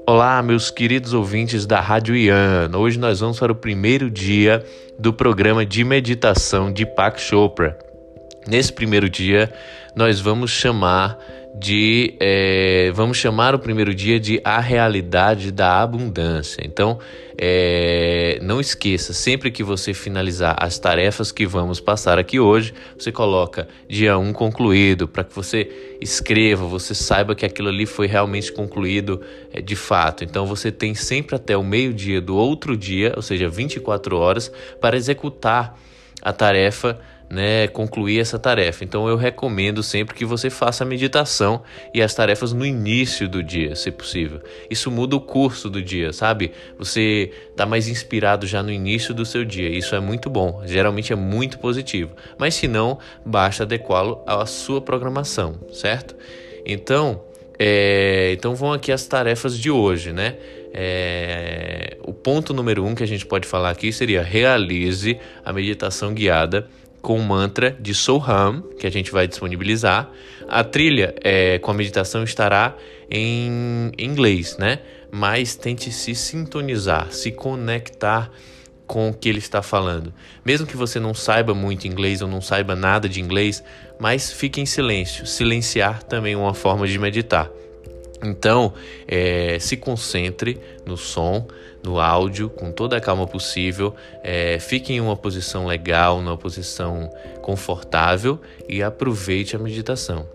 Olá, meus queridos ouvintes da Rádio Ian. Hoje nós vamos para o primeiro dia do programa de meditação de Deepak Chopra. Nesse primeiro dia, nós vamos chamar o primeiro dia de A Realidade da Abundância. Então, não esqueça, sempre que você finalizar as tarefas que vamos passar aqui hoje, você coloca dia 1 concluído, para que você escreva, você saiba que aquilo ali foi realmente concluído de fato. Então, você tem sempre até o meio-dia do outro dia, ou seja, 24 horas, para executar a tarefa, concluir essa tarefa. Então eu recomendo sempre que você faça a meditação e as tarefas no início do dia, se possível. Isso muda o curso do dia, sabe? Você está mais inspirado já no início do seu dia. Isso é muito bom, geralmente é muito positivo. Mas se não, basta adequá-lo à sua programação, certo? Então vão aqui as tarefas de hoje, né? O ponto número 1 que a gente pode falar aqui seria: realize a meditação guiada com o mantra de Soham, que a gente vai disponibilizar. A trilha com a meditação estará em inglês, né? Mas tente se sintonizar, se conectar com o que ele está falando. Mesmo que você não saiba muito inglês ou não saiba nada de inglês, mas fique em silêncio. Silenciar também é uma forma de meditar. Então, se concentre no som, no áudio, com toda a calma possível. Fique em uma posição legal, numa posição confortável e aproveite a meditação.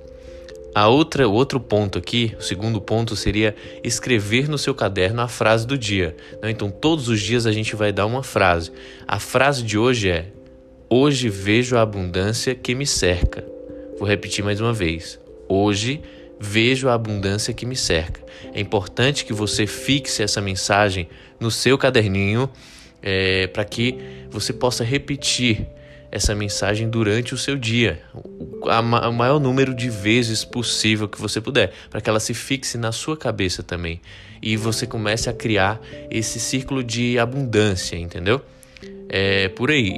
O outro ponto aqui, o segundo ponto, seria escrever no seu caderno a frase do dia. Então, todos os dias a gente vai dar uma frase. A frase de hoje é: hoje vejo a abundância que me cerca. Vou repetir mais uma vez. Hoje vejo a abundância que me cerca. É importante que você fixe essa mensagem no seu caderninho, para que você possa repetir essa mensagem durante o seu dia, o maior número de vezes possível que você puder, para que ela se fixe na sua cabeça também e você comece a criar esse círculo de abundância, entendeu? Por aí.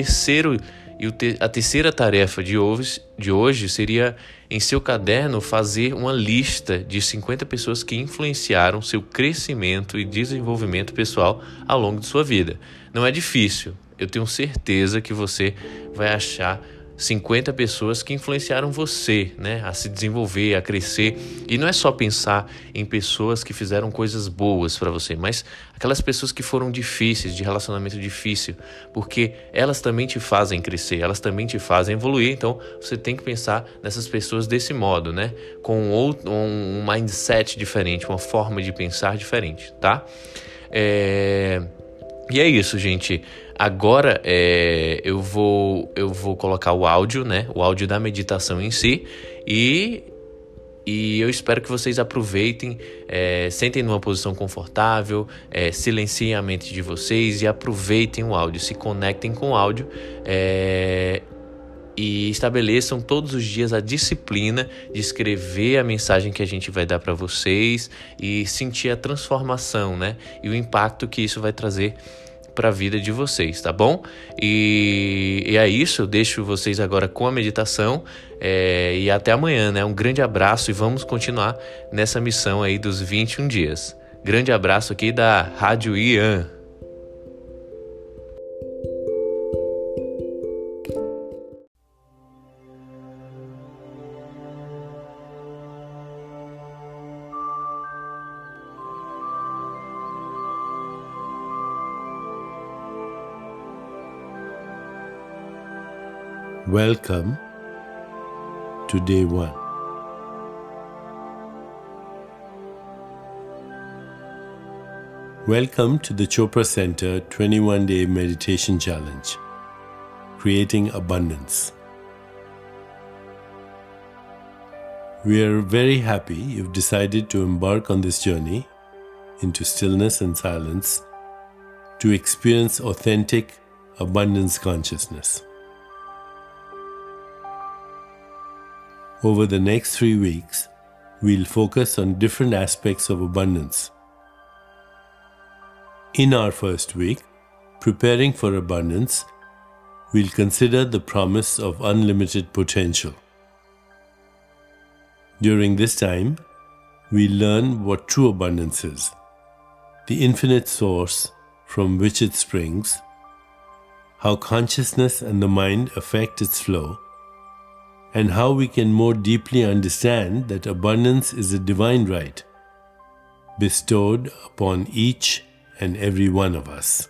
A terceira tarefa de hoje seria, em seu caderno, fazer uma lista de 50 pessoas que influenciaram seu crescimento e desenvolvimento pessoal ao longo de sua vida. Não é difícil, eu tenho certeza que você vai achar 50 pessoas que influenciaram você, a se desenvolver, a crescer. E não é só pensar em pessoas que fizeram coisas boas para você, mas aquelas pessoas que foram difíceis, de relacionamento difícil, porque elas também te fazem crescer, elas também te fazem evoluir. Então você tem que pensar nessas pessoas desse modo, com um mindset diferente, uma forma de pensar diferente, tá? E é isso, gente. Agora eu vou colocar o áudio, o áudio da meditação em si, e eu espero que vocês aproveitem, sentem numa posição confortável, silenciem a mente de vocês e aproveitem o áudio, se conectem com o áudio, e estabeleçam todos os dias a disciplina de escrever a mensagem que a gente vai dar para vocês e sentir a transformação, e o impacto que isso vai trazer para a vida de vocês, tá bom? E é isso, eu deixo vocês agora com a meditação, e até amanhã, Um grande abraço e vamos continuar nessa missão aí dos 21 dias. Grande abraço aqui da Rádio Ian. Welcome to day 1. Welcome to the Chopra Center 21-Day Meditation Challenge, Creating Abundance. We are very happy you've decided to embark on this journey into stillness and silence to experience authentic abundance consciousness. Over the next 3 weeks, we'll focus on different aspects of abundance. In our first week, Preparing for Abundance, we'll consider the promise of unlimited potential. During this time, we learn what true abundance is the infinite source from which it springs, how consciousness and the mind affect its flow, and how we can more deeply understand that abundance is a divine right bestowed upon each and every one of us.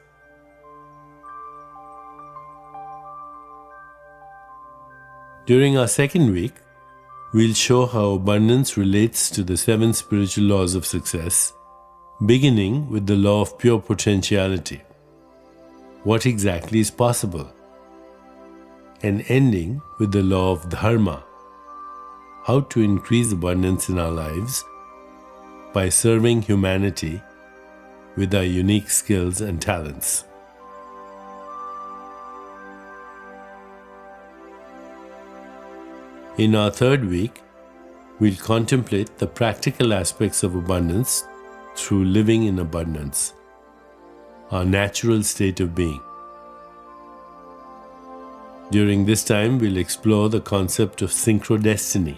During our second week, we'll show how abundance relates to the 7 spiritual laws of success, beginning with the law of pure potentiality. What exactly is possible? And ending with the law of dharma, how to increase abundance in our lives by serving humanity with our unique skills and talents. In our third week, we'll contemplate the practical aspects of abundance through living in abundance, our natural state of being. During this time, we'll explore the concept of synchrodestiny,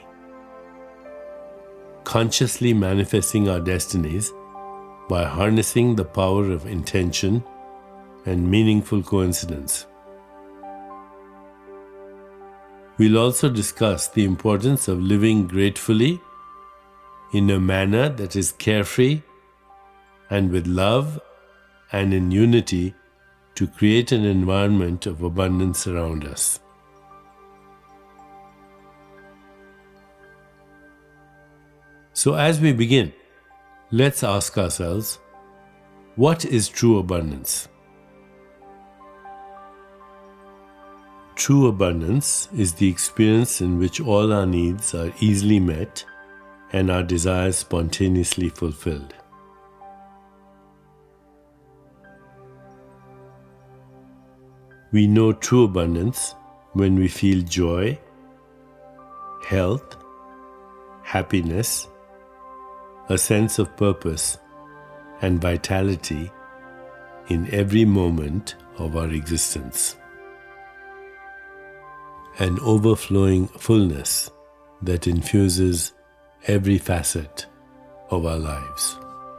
consciously manifesting our destinies by harnessing the power of intention and meaningful coincidence. We'll also discuss the importance of living gratefully in a manner that is carefree and with love and in unity to create an environment of abundance around us. So as we begin, let's ask ourselves, what is true abundance? True abundance is the experience in which all our needs are easily met and our desires spontaneously fulfilled. We know true abundance when we feel joy, health, happiness, a sense of purpose and vitality in every moment of our existence. An overflowing fullness that infuses every facet of our lives.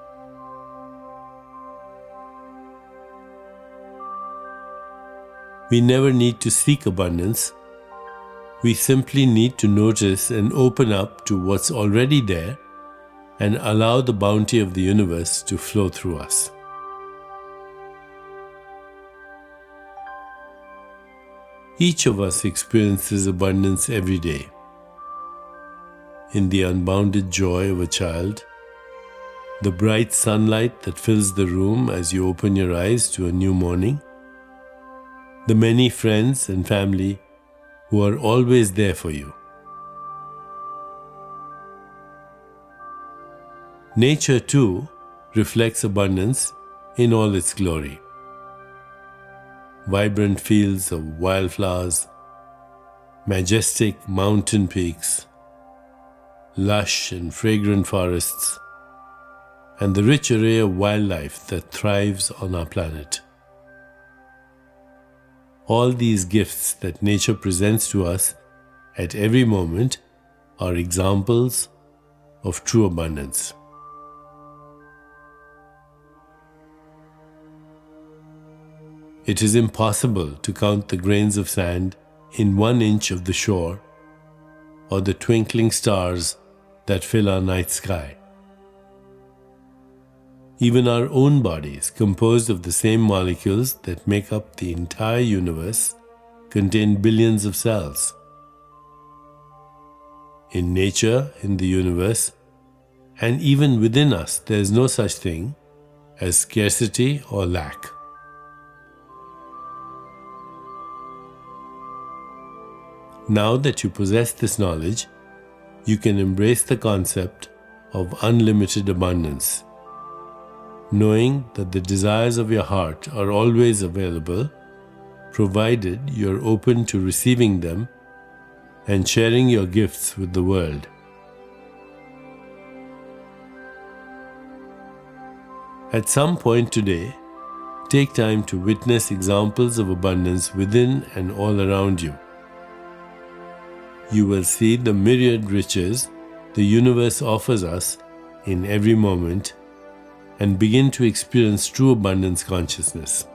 We never need to seek abundance. We simply need to notice and open up to what's already there and allow the bounty of the universe to flow through us. Each of us experiences abundance every day. In the unbounded joy of a child, the bright sunlight that fills the room as you open your eyes to a new morning, the many friends and family who are always there for you. Nature too reflects abundance in all its glory. Vibrant fields of wildflowers, majestic mountain peaks, lush and fragrant forests, and the rich array of wildlife that thrives on our planet. All these gifts that nature presents to us at every moment are examples of true abundance. It is impossible to count the grains of sand in 1 inch of the shore or the twinkling stars that fill our night sky. Even our own bodies, composed of the same molecules that make up the entire universe, contain billions of cells. In nature, in the universe, and even within us, there is no such thing as scarcity or lack. Now that you possess this knowledge, you can embrace the concept of unlimited abundance, knowing that the desires of your heart are always available, provided you're open to receiving them and sharing your gifts with the world. At some point today, take time to witness examples of abundance within and all around you. You will see the myriad riches the universe offers us in every moment and begin to experience true abundance consciousness.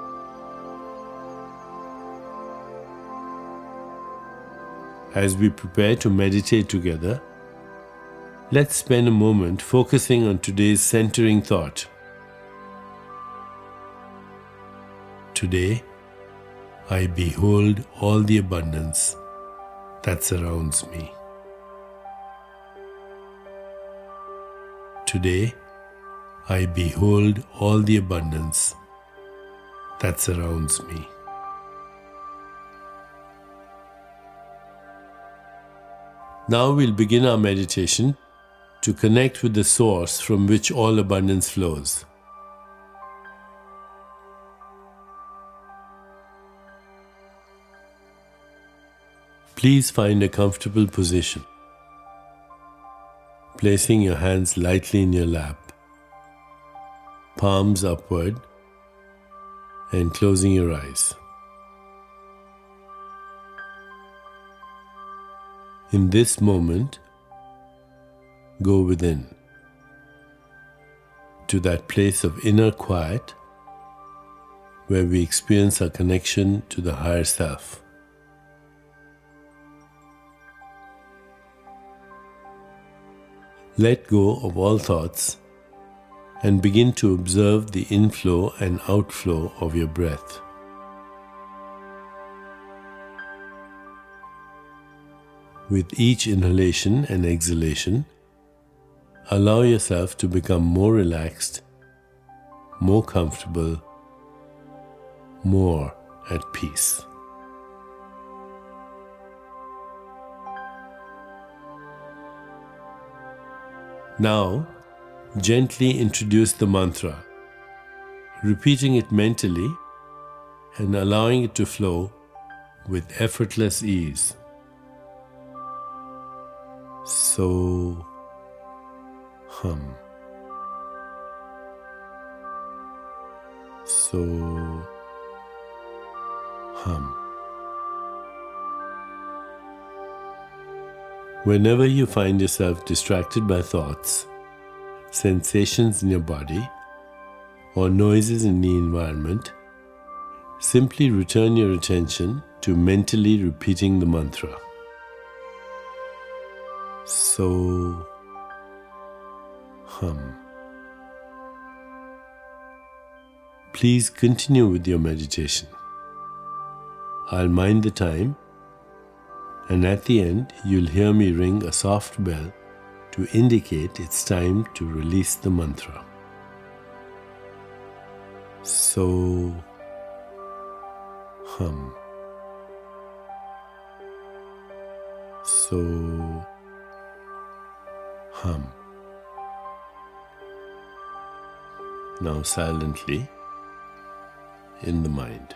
As we prepare to meditate together, let's spend a moment focusing on today's centering thought. Today, I behold all the abundance that surrounds me. Today, I behold all the abundance that surrounds me. Now we'll begin our meditation to connect with the source from which all abundance flows. Please find a comfortable position, placing your hands lightly in your lap, palms upward, and closing your eyes. In this moment, go within, to that place of inner quiet where we experience our connection to the higher self. Let go of all thoughts and begin to observe the inflow and outflow of your breath. With each inhalation and exhalation, allow yourself to become more relaxed, more comfortable, more at peace. Now, gently introduce the mantra, repeating it mentally and allowing it to flow with effortless ease. So, hum. So, hum. Whenever you find yourself distracted by thoughts, sensations in your body, or noises in the environment, simply return your attention to mentally repeating the mantra. So, hum. Please continue with your meditation. I'll mind the time, and at the end, you'll hear me ring a soft bell to indicate it's time to release the mantra. So, hum. So, hum. Now silently in the mind.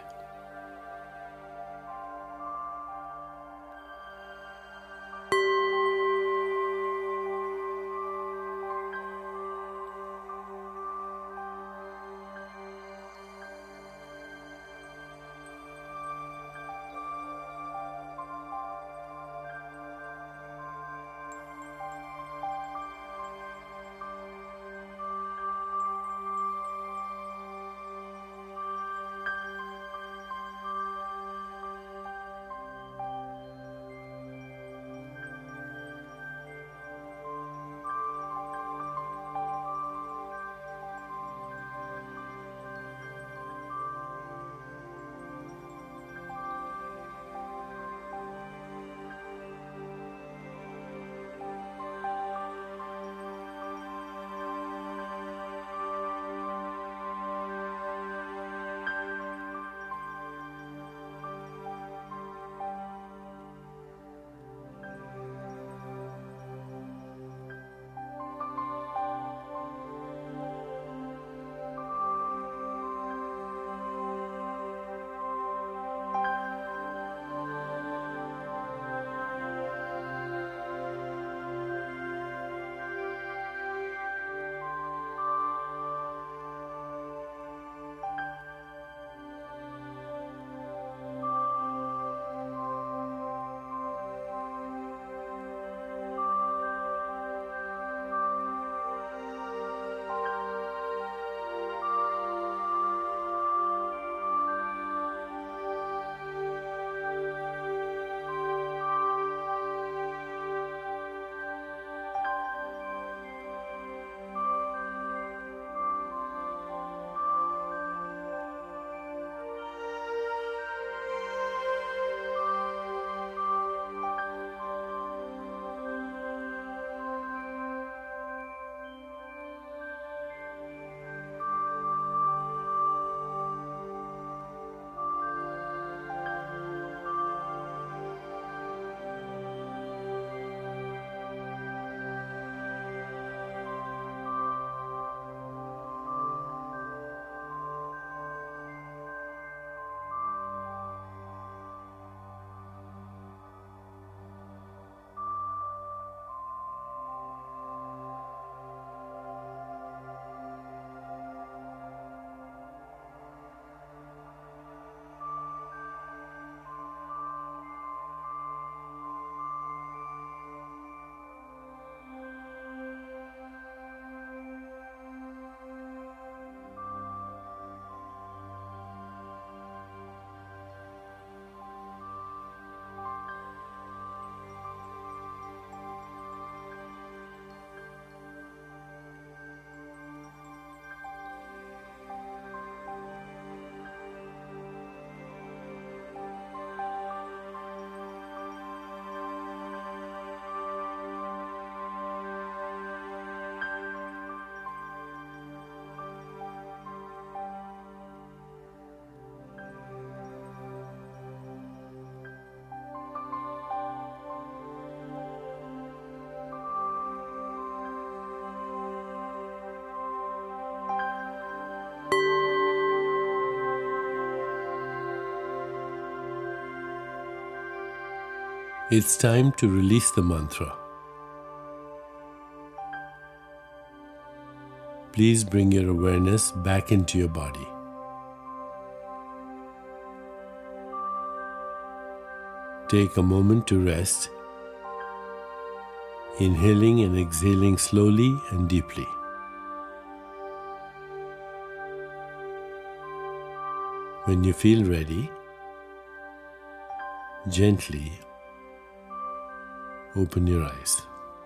It's time to release the mantra. Please bring your awareness back into your body. Take a moment to rest, inhaling and exhaling slowly and deeply. When you feel ready, gently open your eyes.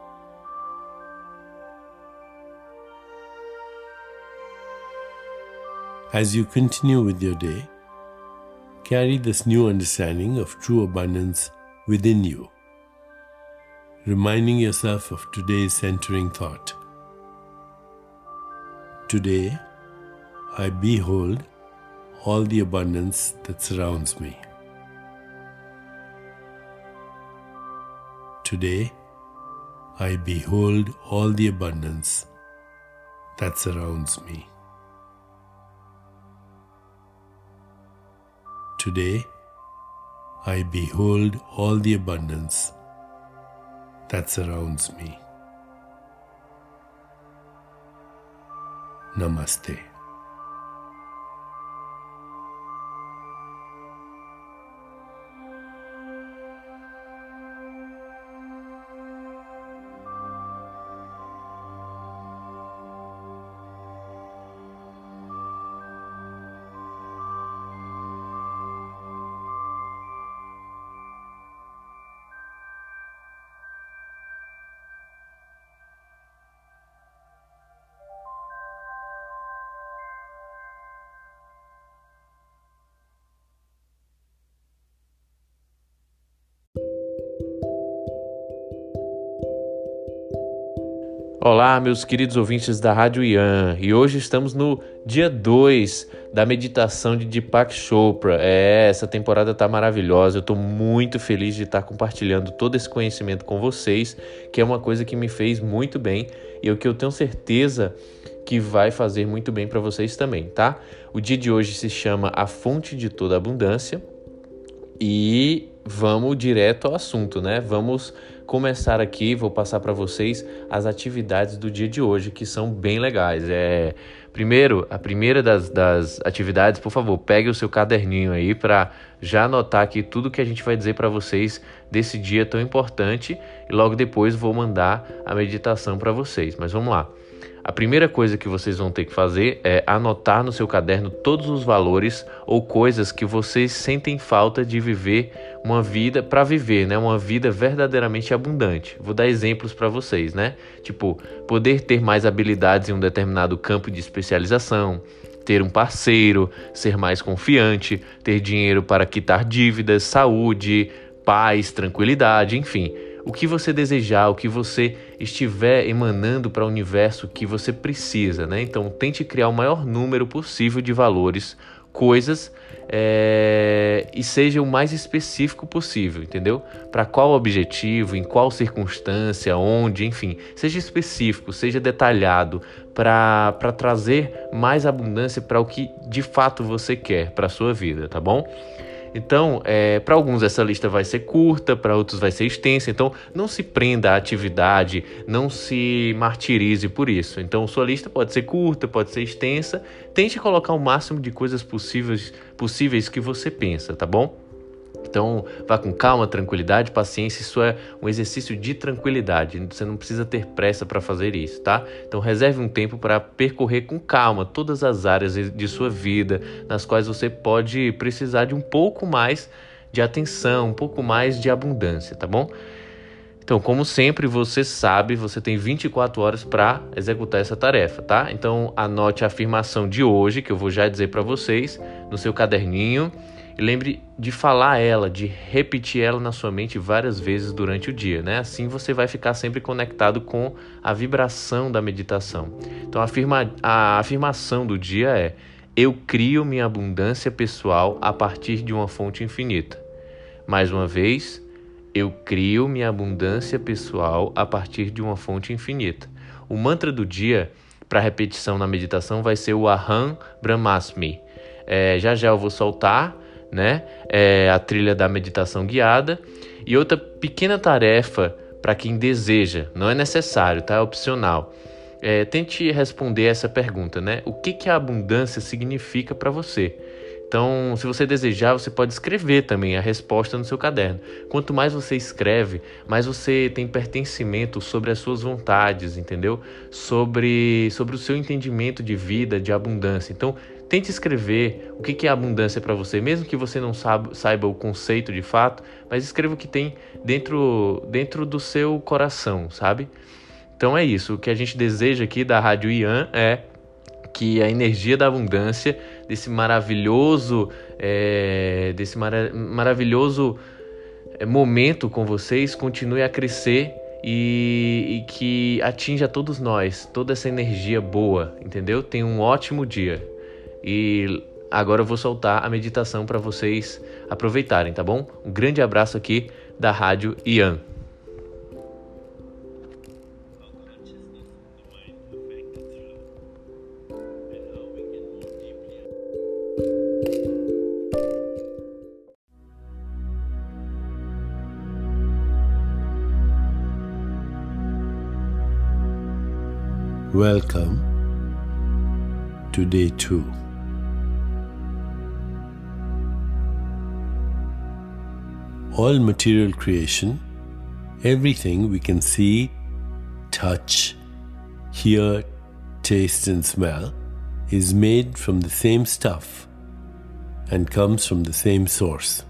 As you continue with your day, carry this new understanding of true abundance within you, reminding yourself of today's centering thought. Today, I behold all the abundance that surrounds me. Today, I behold all the abundance that surrounds me. Today, I behold all the abundance that surrounds me. Namaste. Olá, meus queridos ouvintes da Rádio Ian, e hoje estamos no dia 2 da meditação de Deepak Chopra. Essa temporada está maravilhosa, eu estou muito feliz de estar compartilhando todo esse conhecimento com vocês, que é uma coisa que me fez muito bem e o que eu tenho certeza que vai fazer muito bem para vocês também, tá? O dia de hoje se chama A Fonte de Toda Abundância e vamos direto ao assunto, né? Vamos começar aqui, vou passar para vocês as atividades do dia de hoje, que são bem legais. Primeiro, a primeira das atividades, por favor, pegue o seu caderninho aí para já anotar aqui tudo que a gente vai dizer para vocês desse dia tão importante e logo depois vou mandar a meditação para vocês. Mas vamos lá. A primeira coisa que vocês vão ter que fazer é anotar no seu caderno todos os valores ou coisas que vocês sentem falta de viver uma vida para viver, né? Uma vida verdadeiramente abundante. Vou dar exemplos para vocês, né? Tipo, poder ter mais habilidades em um determinado campo de especialização, ter um parceiro, ser mais confiante, ter dinheiro para quitar dívidas, saúde, paz, tranquilidade, enfim. O que você desejar, o que você estiver emanando para o universo que você precisa, né? Então, tente criar o maior número possível de valores, coisas, e seja o mais específico possível, entendeu? Para qual objetivo, em qual circunstância, onde, enfim. Seja específico, seja detalhado, para trazer mais abundância para o que de fato você quer para a sua vida, tá bom? Então, para alguns essa lista vai ser curta, para outros vai ser extensa, então não se prenda à atividade, não se martirize por isso. Então, sua lista pode ser curta, pode ser extensa, tente colocar o máximo de coisas possíveis que você pensa, tá bom? Então, vá com calma, tranquilidade, paciência, isso é um exercício de tranquilidade, você não precisa ter pressa para fazer isso, tá? Então, reserve um tempo para percorrer com calma todas as áreas de sua vida, nas quais você pode precisar de um pouco mais de atenção, um pouco mais de abundância, tá bom? Então, como sempre, você sabe, você tem 24 horas para executar essa tarefa, tá? Então, anote a afirmação de hoje, que eu vou já dizer para vocês, no seu caderninho. E lembre de falar ela, de repetir ela na sua mente várias vezes durante o dia, né? Assim você vai ficar sempre conectado com a vibração da meditação. Então a afirmação do dia é: eu crio minha abundância pessoal a partir de uma fonte infinita. Mais uma vez, eu crio minha abundância pessoal a partir de uma fonte infinita. O mantra do dia para repetição na meditação vai ser o Aham Brahmasmi. Já eu vou soltar, né? A trilha da meditação guiada E outra pequena tarefa para quem deseja, não é necessário, tá? É opcional. Tente responder essa pergunta, né? O que a abundância significa para você? Então, se você desejar, você pode escrever também a resposta no seu caderno. Quanto mais você escreve, mais você tem pertencimento sobre as suas vontades, entendeu? Sobre o seu entendimento de vida, de abundância. Então, tente escrever o que é abundância para você, mesmo que você não saiba o conceito de fato, mas escreva o que tem dentro do seu coração, sabe? Então é isso. O que a gente deseja aqui da Rádio Ian é que a energia da abundância, desse maravilhoso momento com vocês, continue a crescer e que atinja todos nós, toda essa energia boa, entendeu? Tenha um ótimo dia. E agora eu vou soltar a meditação para vocês aproveitarem, tá bom? Um grande abraço aqui da Rádio Ian. Welcome to day 2. All material creation, everything we can see, touch, hear, taste and smell is made from the same stuff and comes from the same source.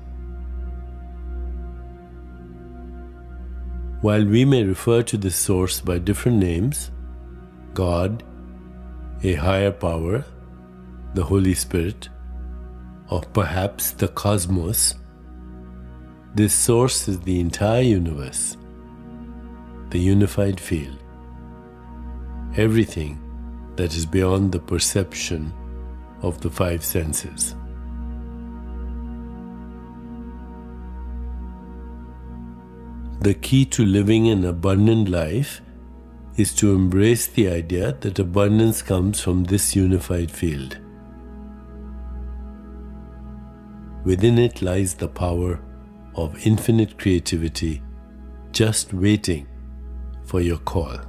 While we may refer to this source by different names, God, a higher power, the Holy Spirit, or perhaps the cosmos, this source is the entire universe, the unified field, everything that is beyond the perception of the 5 senses. The key to living an abundant life is to embrace the idea that abundance comes from this unified field. Within it lies the power of infinite creativity, just waiting for your call.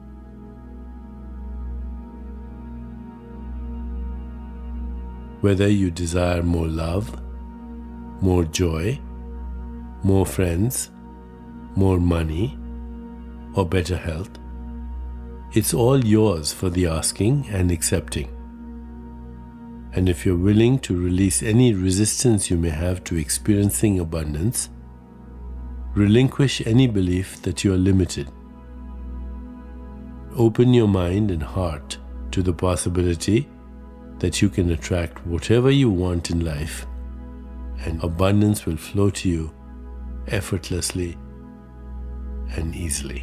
Whether you desire more love, more joy, more friends, more money, or better health, it's all yours for the asking and accepting. And if you're willing to release any resistance you may have to experiencing abundance, relinquish any belief that you are limited. Open your mind and heart to the possibility that you can attract whatever you want in life, and abundance will flow to you effortlessly and easily.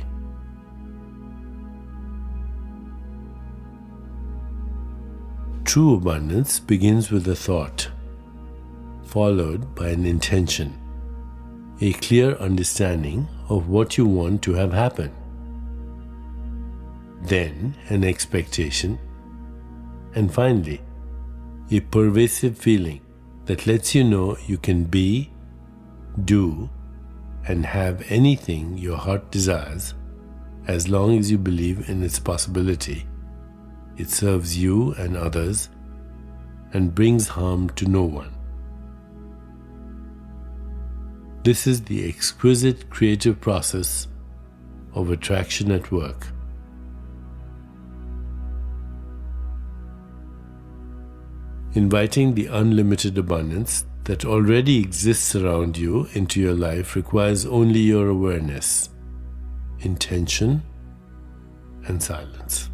True abundance begins with a thought, followed by an intention, a clear understanding of what you want to have happen, then an expectation, and finally, a pervasive feeling that lets you know you can be, do, and have anything your heart desires as long as you believe in its possibility. It serves you and others and brings harm to no one. This is the exquisite creative process of attraction at work. Inviting the unlimited abundance that already exists around you into your life requires only your awareness, intention, and silence.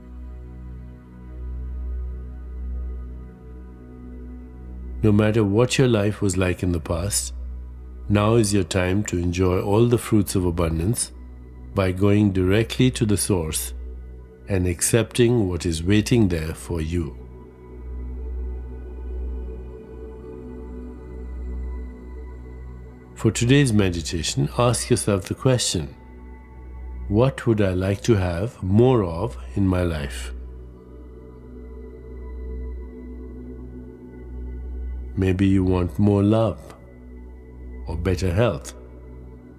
No matter what your life was like in the past, now is your time to enjoy all the fruits of abundance by going directly to the source and accepting what is waiting there for you. For today's meditation, ask yourself the question, what would I like to have more of in my life? Maybe you want more love, or better health,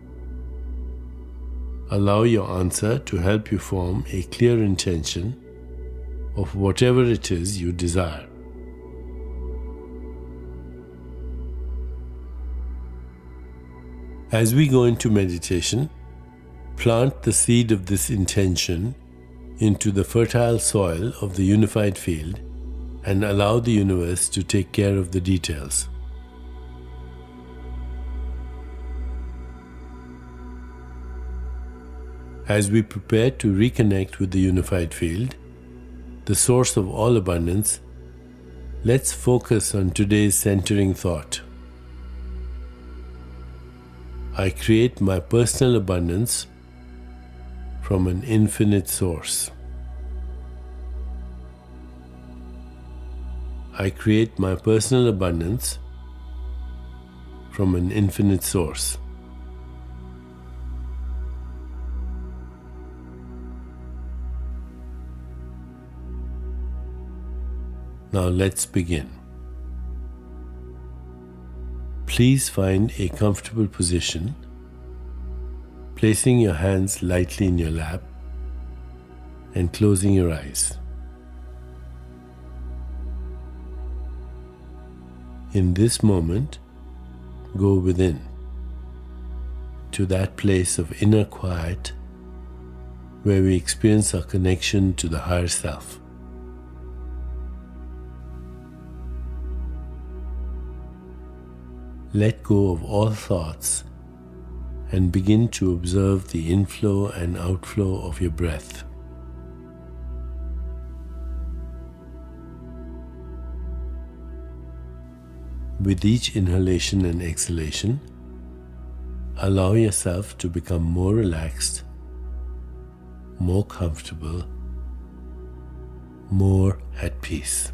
Allow your answer to help you form a clear intention of whatever it is you desire. As we go into meditation, plant the seed of this intention into the fertile soil of the unified field and allow the universe to take care of the details. As we prepare to reconnect with the unified field, the source of all abundance, let's focus on today's centering thought. I create my personal abundance from an infinite source. I create my personal abundance from an infinite source. Now let's begin. Please find a comfortable position, placing your hands lightly in your lap and closing your eyes. In this moment, go within, to that place of inner quiet where we experience our connection to the higher self. Let go of all thoughts and begin to observe the inflow and outflow of your breath. With each inhalation and exhalation, allow yourself to become more relaxed, more comfortable, more at peace.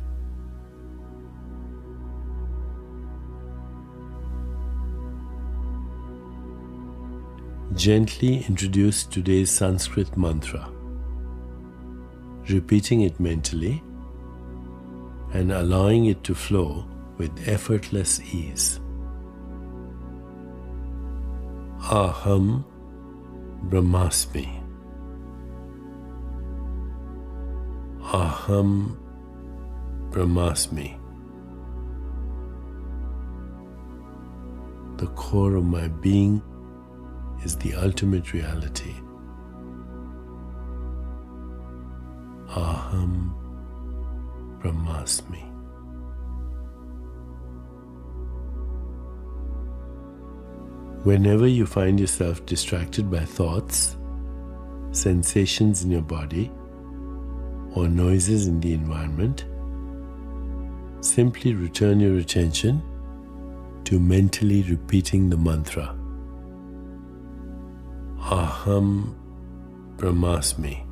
Gently introduce today's Sanskrit mantra, repeating it mentally and allowing it to flow with effortless ease. Aham Brahmasmi. Aham Brahmasmi. The core of my being is the ultimate reality. Aham Brahmasmi. Whenever you find yourself distracted by thoughts, sensations in your body, or noises in the environment, simply return your attention to mentally repeating the mantra. Aham Brahmasmi.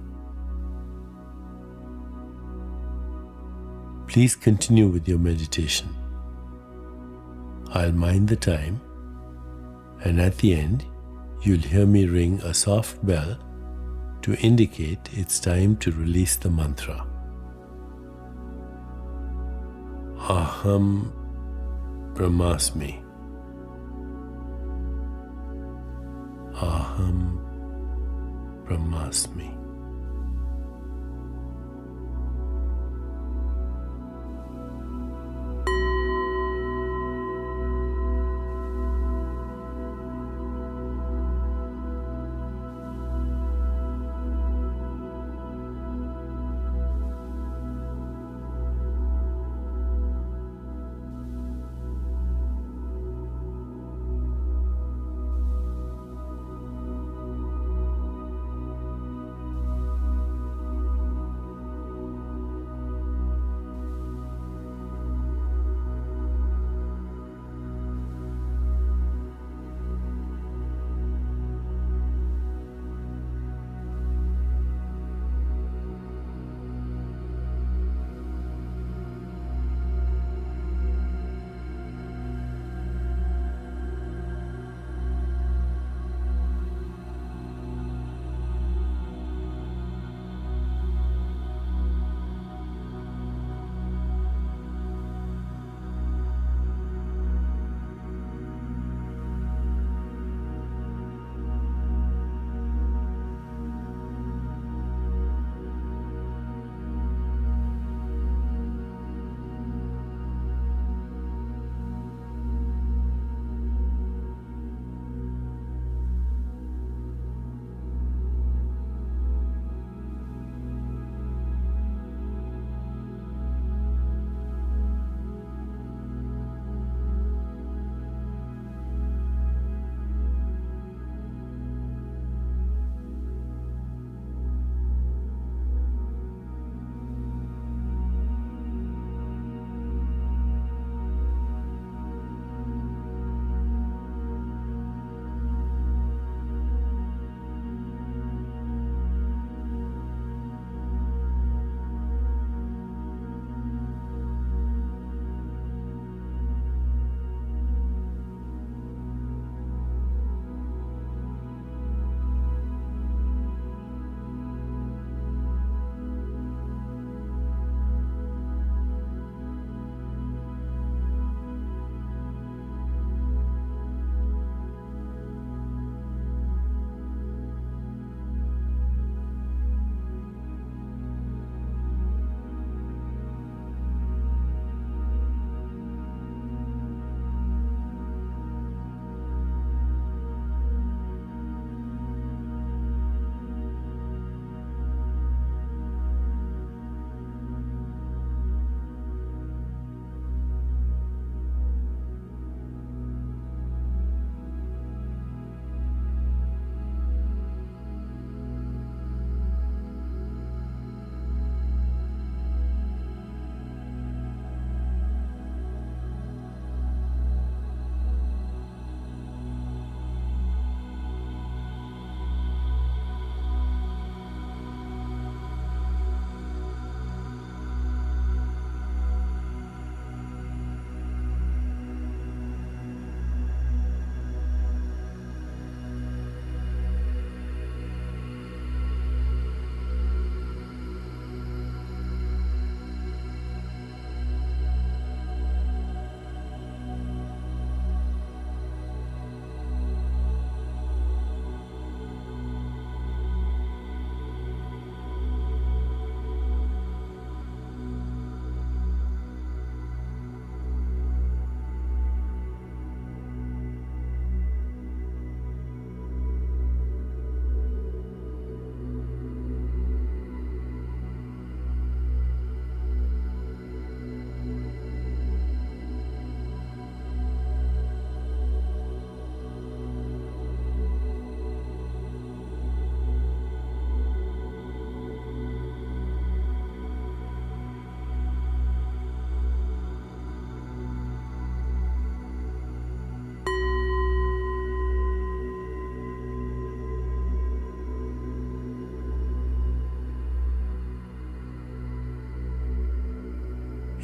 Please continue with your meditation. I'll mind the time, and at the end, you'll hear me ring a soft bell to indicate it's time to release the mantra. Aham Brahmasmi. Aham Brahmasmi.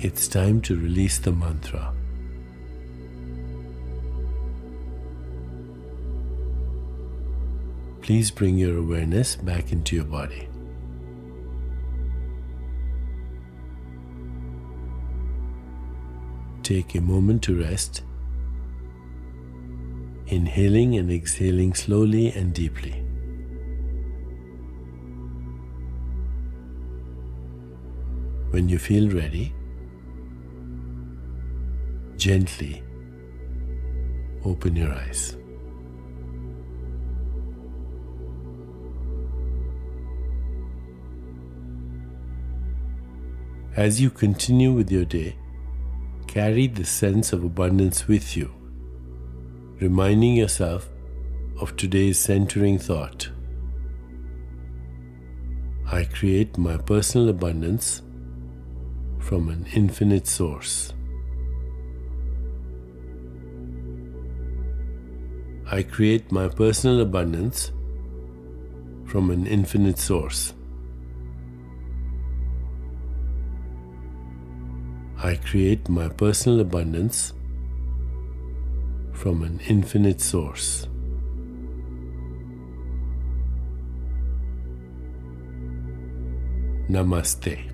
it's time to release the mantra. Please bring your awareness back into your body. Take a moment to rest, inhaling and exhaling slowly and deeply. When you feel ready, gently open your eyes. As you continue with your day, carry the sense of abundance with you, reminding yourself of today's centering thought. I create my personal abundance from an infinite source. I create my personal abundance from an infinite source. I create my personal abundance from an infinite source. Namaste.